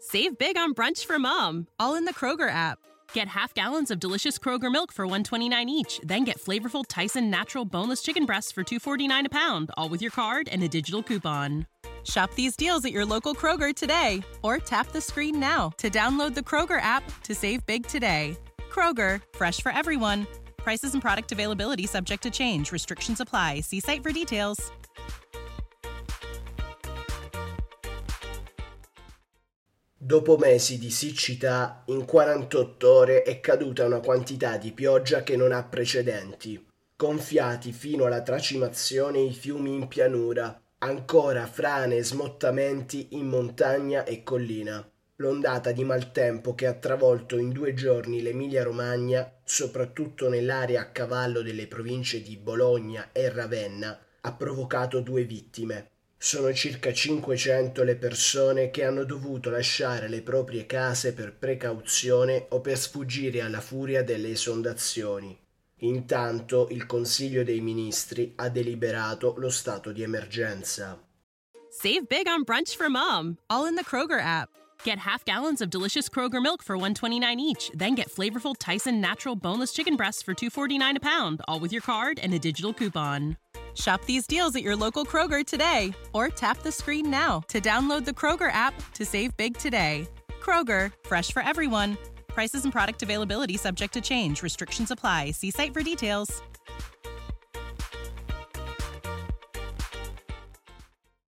Save big on brunch for mom, all in the Kroger app. Get half gallons of delicious Kroger milk for $1.29 each. Then get flavorful Tyson natural boneless chicken breasts for $2.49 a pound, all with your card and a digital coupon. Shop these deals at your local Kroger today, or tap the screen now to download the Kroger app to save big today. Kroger, fresh for everyone. Prices and product availability subject to change. Restrictions apply. See site for details. Dopo mesi di siccità, in 48 ore è caduta una quantità di pioggia che non ha precedenti. Gonfiati fino alla tracimazione i fiumi in pianura, ancora frane e smottamenti in montagna e collina. L'ondata di maltempo che ha travolto in 2 giorni l'Emilia-Romagna, soprattutto nell'area a cavallo delle province di Bologna e Ravenna, ha provocato 2 vittime. Sono circa 500 le persone che hanno dovuto lasciare le proprie case per precauzione o per sfuggire alla furia delle esondazioni. Intanto il Consiglio dei Ministri ha deliberato lo stato di emergenza. Save big on brunch for mom, all in the Kroger app. Get half gallons of delicious Kroger milk for $1.29 each. Then get flavorful Tyson natural boneless chicken breasts for $2.49 a pound, all with your card and a digital coupon. Shop these deals at your local Kroger today, or tap the screen now to download the Kroger app to save big today. Kroger, fresh for everyone. Prices and product availability subject to change. Restrictions apply. See site for details.